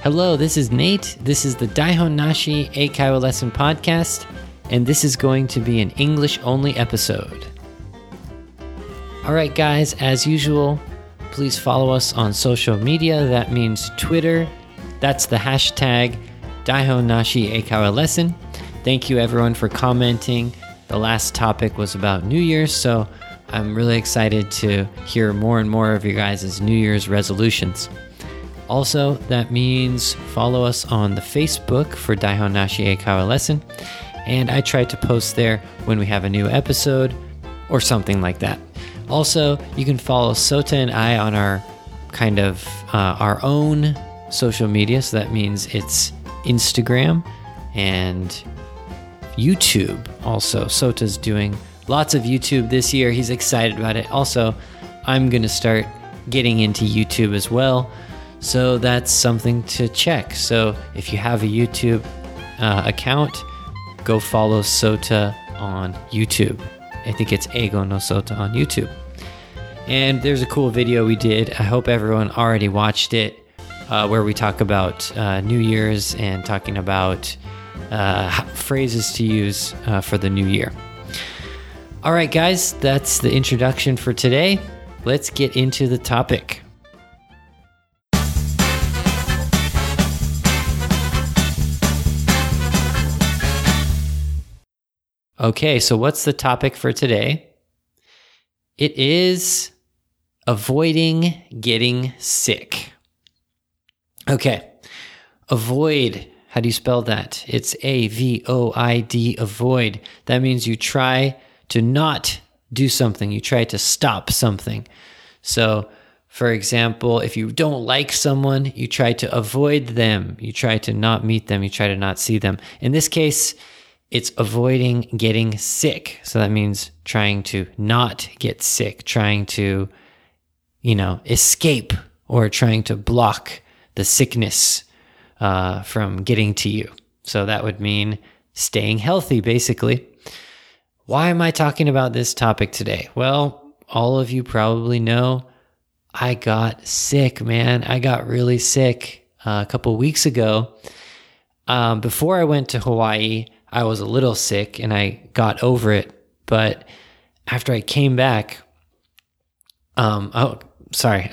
Hello, this is Nate. This is the Daihon Nashi Eikaiwa Lesson Podcast, and this is going to be an English-only episode. Alright guys, as usual, please follow us on social media. That means Twitter. That's the hashtag Daihon Nashi Eikaiwa Lesson. Thank you everyone for commenting. The last topic was about New Year's, so I'm really excited to hear more and more of your guys' New Year's resolutions. Also, that means follow us on the Facebook for Daihon Nashi Eikaiwa Lesson, and I try to post there when we have a new episode or something like that. Also, you can follow Sota and I on our our own social media, so that means it's Instagram and YouTube. Also, Sota's doing lots of YouTube this year. He's excited about it. Also, I'm going to start getting into YouTube as well. So that's something to check. So if you have a YouTube account, go follow Sota on YouTube. I think it's Eigo no Sota on YouTube. And there's a cool video we did. I hope everyone already watched it, where we talk about New Year's and talking about phrases to use for the new year. All right, guys, that's the introduction for today. Let's get into the topic. Okay, so what's the topic for today? It is avoiding getting sick. Okay, avoid. How do you spell that? It's A-V-O-I-D, avoid. That means you try to not do something. You try to stop something. So, for example, if you don't like someone, you try to avoid them. You try to not meet them. You try to not see them. In this case, it's avoiding getting sick. So that means trying to not get sick, trying to, escape or trying to block the sickness from getting to you. So that would mean staying healthy, basically. Why am I talking about this topic today? Well, all of you probably know I got sick, man. I got really sick a couple weeks ago. Before I went to Hawaii, I was a little sick and I got over it. But after I came back, sorry.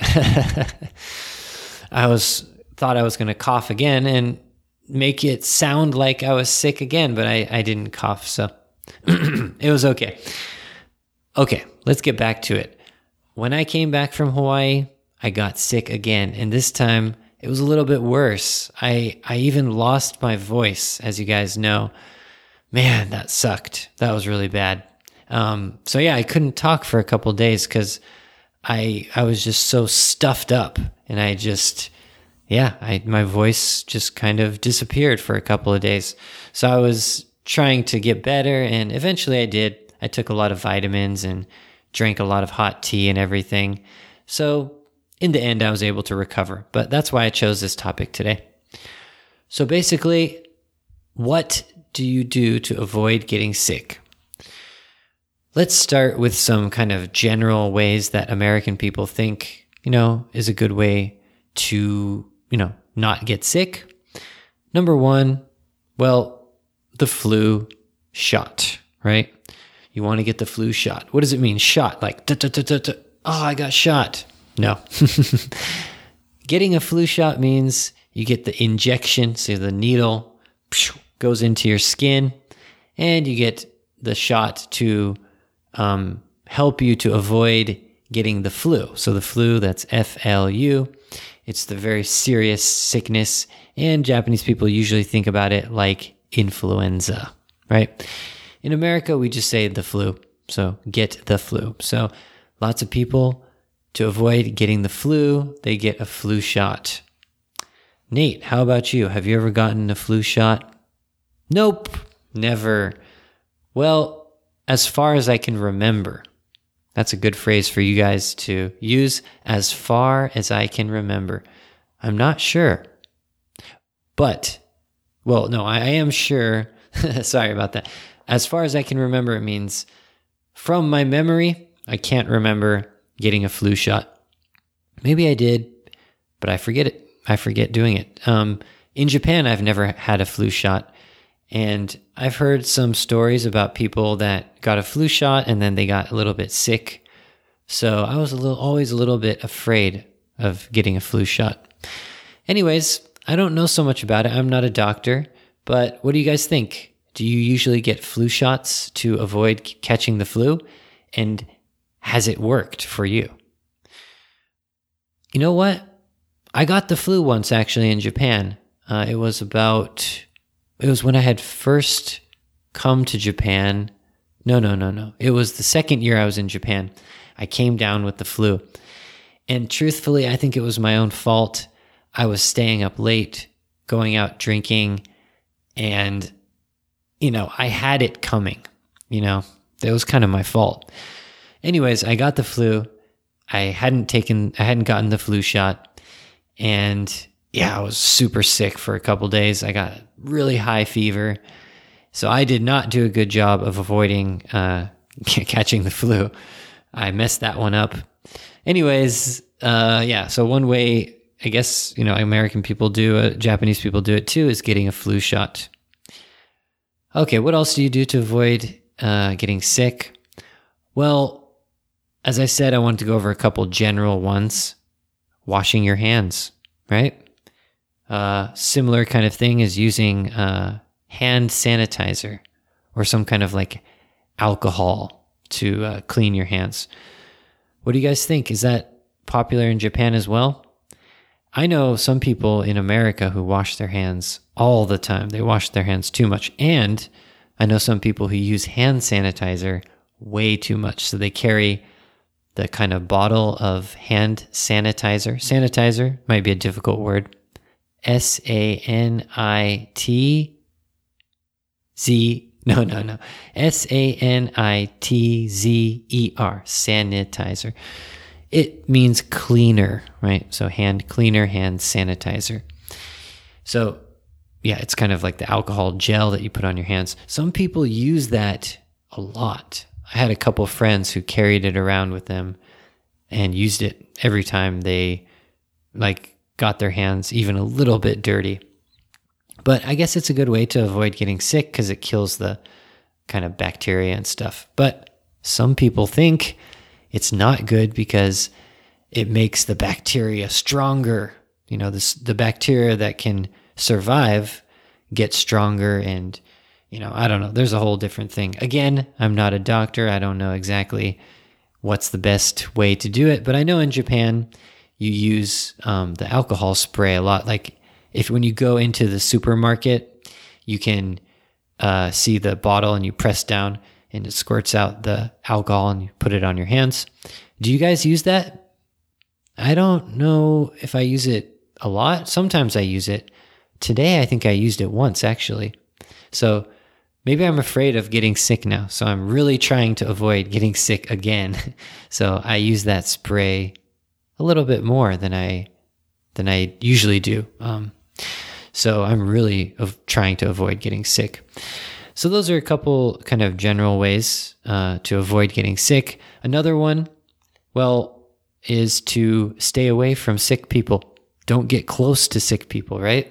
Thought I was going to cough again and make it sound like I was sick again, but I didn't cough, so it was okay. Okay, let's get back to it. When I came back from Hawaii, I got sick again, and this time it was a little bit worse. I even lost my voice, as you guys know. Man, that sucked. That was really bad. So yeah, I couldn't talk for a couple of days because I was just so stuffed up, and my voice just kind of disappeared for a couple of days. So I was trying to get better, and eventually I did. I took a lot of vitamins and drank a lot of hot tea and everything. So in the end, I was able to recover. But that's why I chose this topic today. So basically, what do you do to avoid getting sick? Let's start with some kind of general ways that American people think, is a good way to, not get sick. Number one, the flu shot, right? You want to get the flu shot. What does it mean? Shot, like, oh, I got shot. No. Getting a flu shot means you get the injection, so the needle goes into your skin, and you get the shot to help you to avoid getting the flu. So the flu, that's F-L-U. It's the very serious sickness, and Japanese people usually think about it like influenza, right? In America, we just say the flu, so get the flu. So lots of people, to avoid getting the flu, they get a flu shot. Nate, how about you? Have you ever gotten a flu shot? Nope, never. Well, as far as I can remember. That's a good phrase for you guys to use, as far as I can remember. I'm not sure. But, I am sure. Sorry about that. As far as I can remember, it means from my memory, I can't remember getting a flu shot. Maybe I did, but I forget it. I forget doing it. In Japan, I've never had a flu shot. And I've heard some stories about people that got a flu shot and then they got a little bit sick. So I was always a little bit afraid of getting a flu shot. Anyways, I don't know so much about it. I'm not a doctor, but what do you guys think? Do you usually get flu shots to avoid catching the flu? And has it worked for you? You know what? I got the flu once actually in Japan. It was when I had first come to Japan. No. It was the second year I was in Japan. I came down with the flu. And truthfully, I think it was my own fault. I was staying up late, going out drinking, and, I had it coming. That was kind of my fault. Anyways, I got the flu. I hadn't gotten the flu shot. And I was super sick for a couple days. I got really high fever. So I did not do a good job of avoiding catching the flu. I messed that one up. Anyways, so one way, I guess, American people do it, Japanese people do it too, is getting a flu shot. Okay, what else do you do to avoid getting sick? Well, as I said, I wanted to go over a couple general ones. Washing your hands, right? Similar kind of thing is using hand sanitizer or some kind of like alcohol to clean your hands. What do you guys think? Is that popular in Japan as well? I know some people in America who wash their hands all the time. They wash their hands too much. And I know some people who use hand sanitizer way too much. So they carry the kind of bottle of hand sanitizer. Sanitizer might be a difficult word. Sanitz. No. Sanitzer. Sanitizer. It means cleaner, right? So hand cleaner, hand sanitizer. So it's kind of like the alcohol gel that you put on your hands. Some people use that a lot. I had a couple of friends who carried it around with them and used it every time they got their hands even a little bit dirty. But I guess it's a good way to avoid getting sick because it kills the kind of bacteria and stuff. But some people think it's not good because it makes the bacteria stronger. The bacteria that can survive get stronger and, I don't know. There's a whole different thing. When I'm not a doctor. I don't know exactly what's the best way to do it. But I know in Japan, you use the alcohol spray a lot. Like when you go into the supermarket, you can see the bottle and you press down and it squirts out the alcohol and you put it on your hands. Do you guys use that? I don't know if I use it a lot. Sometimes I use it. Today, I think I used it once, actually. So maybe I'm afraid of getting sick now. So I'm really trying to avoid getting sick again. So I use that spray a little bit more than I usually do. So I'm really trying to avoid getting sick. So those are a couple kind of general ways to avoid getting sick. Another one, is to stay away from sick people. Don't get close to sick people, right?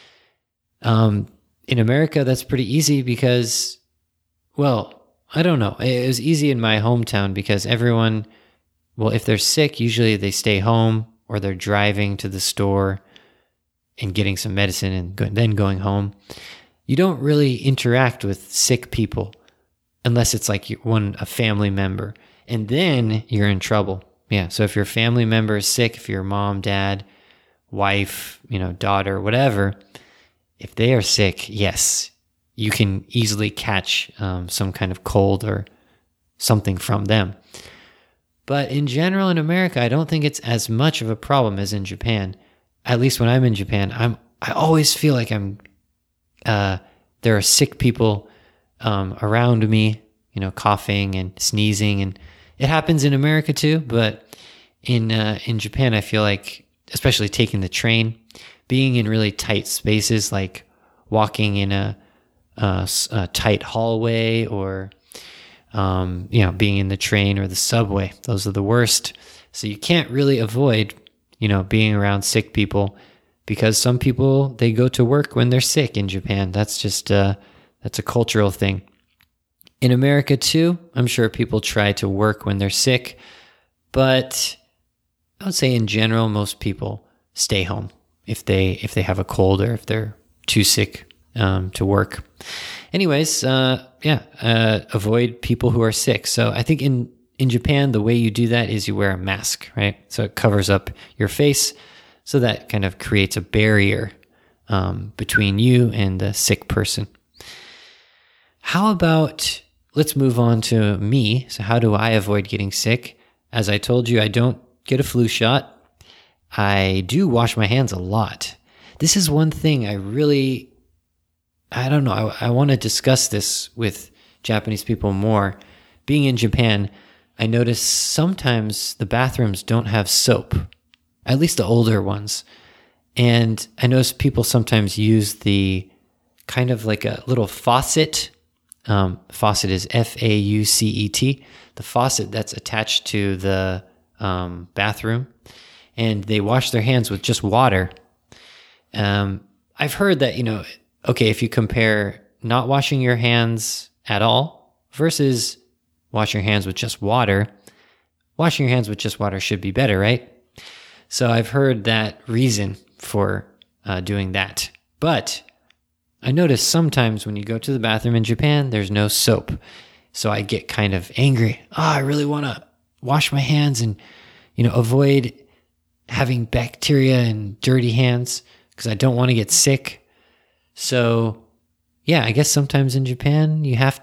In America, that's pretty easy because, I don't know. It was easy in my hometown because everyone, if they're sick, usually they stay home or they're driving to the store and getting some medicine and then going home. You don't really interact with sick people unless it's like a family member. And then you're in trouble. Yeah, so if your family member is sick, if your mom, dad, wife, daughter, whatever, if they are sick, yes, you can easily catch some kind of cold or something from them. But in general, in America, I don't think it's as much of a problem as in Japan. At least when I'm in Japan, I always feel like there are sick people around me, coughing and sneezing, and it happens in America too. But in Japan, I feel like, especially taking the train, being in really tight spaces, like walking in a tight hallway, or being in the train or the subway, those are the worst. So you can't really avoid, being around sick people because some people, they go to work when they're sick in Japan. That's just, that's a cultural thing. In America too, I'm sure people try to work when they're sick, but I would say in general, most people stay home if they have a cold or if they're too sick to work. Anyways, avoid people who are sick. So I think in Japan, the way you do that is you wear a mask, right? So it covers up your face. So that kind of creates a barrier between you and the sick person. How about, let's move on to me. So how do I avoid getting sick? As I told you, I don't get a flu shot. I do wash my hands a lot. This is one thing I don't know. I want to discuss this with Japanese people more. Being in Japan, I notice sometimes the bathrooms don't have soap, at least the older ones. And I notice people sometimes use the kind of like a little faucet. Faucet is F-A-U-C-E-T. The faucet that's attached to the bathroom. And they wash their hands with just water. I've heard that, if you compare not washing your hands at all versus washing your hands with just water, washing your hands with just water should be better, right? So I've heard that reason for doing that. But I notice sometimes when you go to the bathroom in Japan, there's no soap. So I get kind of angry. I really want to wash my hands and, avoid having bacteria and dirty hands because I don't want to get sick. So, I guess sometimes in Japan, you have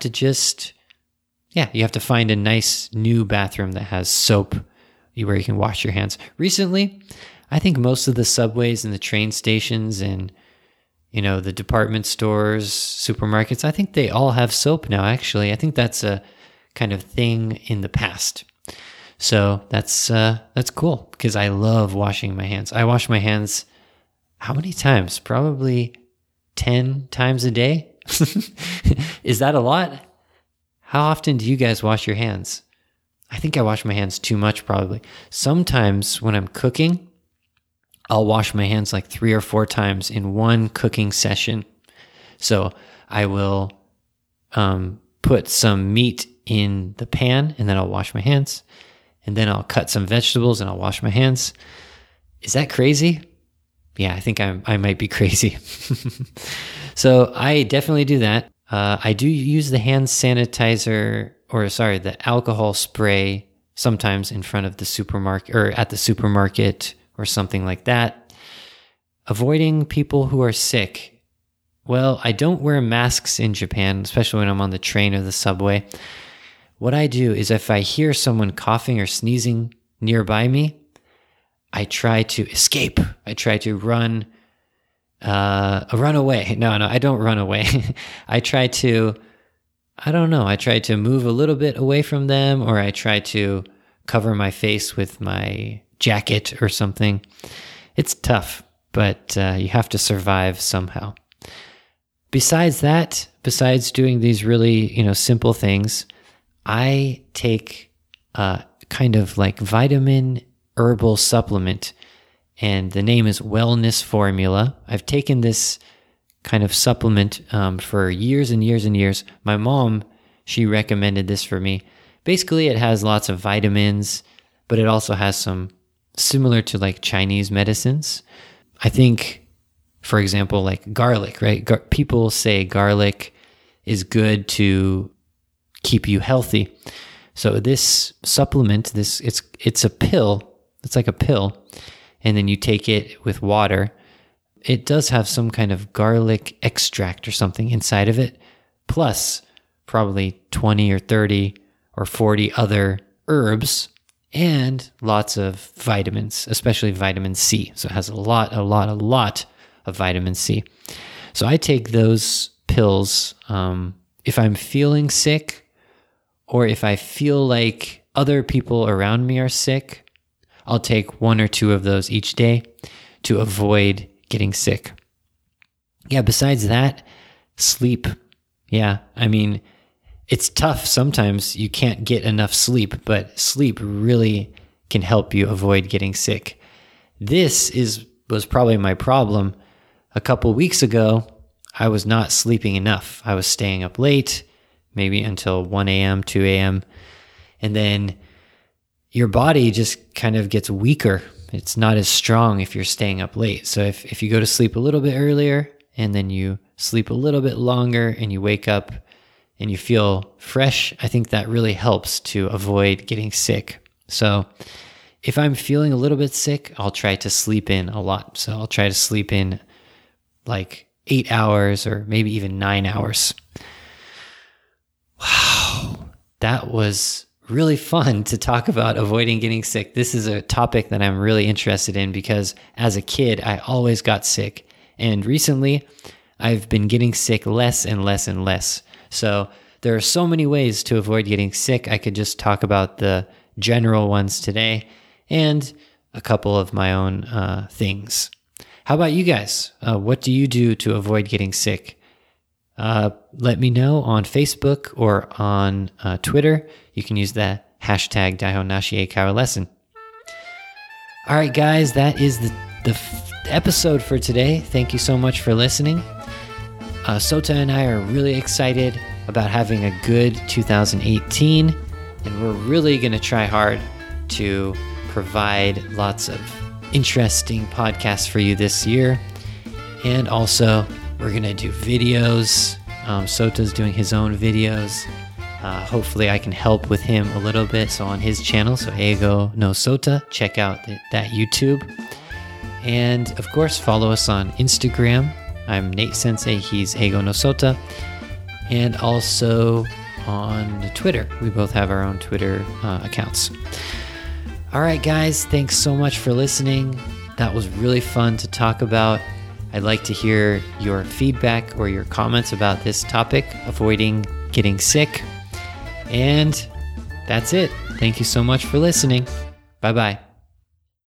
to find a nice new bathroom that has soap where you can wash your hands. Recently, I think most of the subways and the train stations and, the department stores, supermarkets, I think they all have soap now, actually. I think that's a kind of thing in the past. So that's cool because I love washing my hands. I wash my hands how many times? Probably 10 times a day. Is that a lot? How often do you guys wash your hands? I think I wash my hands too much probably. Sometimes when I'm cooking, I'll wash my hands like 3 or 4 times in one cooking session. So I will put some meat in the pan and then I'll wash my hands. And then I'll cut some vegetables and I'll wash my hands. Is that crazy? Yeah, I think I might be crazy. So I definitely do that. I do use the hand sanitizer, the alcohol spray sometimes in front of the supermarket or at the supermarket or something like that. Avoiding people who are sick. Well, I don't wear masks in Japan, especially when I'm on the train or the subway. What I do is if I hear someone coughing or sneezing nearby me, I try to escape. I try to run away. No, I don't run away. I try to move a little bit away from them, or I try to cover my face with my jacket or something. It's tough, but you have to survive somehow. Besides doing these really, simple things, I take kind of like vitamin herbal supplement, and the name is Wellness Formula. I've taken this kind of supplement for years and years and years. My mom, she recommended this for me. Basically, it has lots of vitamins, but it also has some similar to like Chinese medicines. I think, for example, like garlic, right? People say garlic is good to keep you healthy. So this supplement, it's a pill. It's like a pill, and then you take it with water. It does have some kind of garlic extract or something inside of it, plus probably 20 or 30 or 40 other herbs and lots of vitamins, especially vitamin C. So it has a lot of vitamin C. So I take those pills if I'm feeling sick, or if I feel like other people around me are sick. I'll take 1 or 2 of those each day to avoid getting sick. Yeah, besides that, sleep. Yeah, I mean, it's tough. Sometimes you can't get enough sleep, but sleep really can help you avoid getting sick. This is was probably my problem. A couple weeks ago, I was not sleeping enough. I was staying up late, maybe until 1 a.m., 2 a.m. And then your body just kind of gets weaker. It's not as strong if you're staying up late. So if you go to sleep a little bit earlier and then you sleep a little bit longer and you wake up and you feel fresh, I think that really helps to avoid getting sick. So if I'm feeling a little bit sick, I'll try to sleep in a lot. So I'll try to sleep in like 8 hours or maybe even 9 hours. Wow, that was really fun to talk about avoiding getting sick. This is a topic that I'm really interested in because as a kid, I always got sick. And recently, I've been getting sick less and less and less. So there are so many ways to avoid getting sick. I could just talk about the general ones today and a couple of my own things. How about you guys? What do you do to avoid getting sick? Let me know on Facebook or on Twitter. You can use the hashtag Daihonashie Lesson. All right, guys, that is the episode for today. Thank you so much for listening. Sota and I are really excited about having a good 2018, and we're really going to try hard to provide lots of interesting podcasts for you this year. And also, we're going to do videos. Sota's doing his own videos. Hopefully I can help with him a little bit. So on his channel, so Eigo no Sota, check out that YouTube. And of course, follow us on Instagram. I'm Nate Sensei, he's Eigo no Sota. And also on Twitter. We both have our own Twitter accounts. All right, guys, thanks so much for listening. That was really fun to talk about. I'd like to hear your feedback or your comments about this topic, avoiding getting sick. And that's it. Thank you so much for listening. Bye-bye.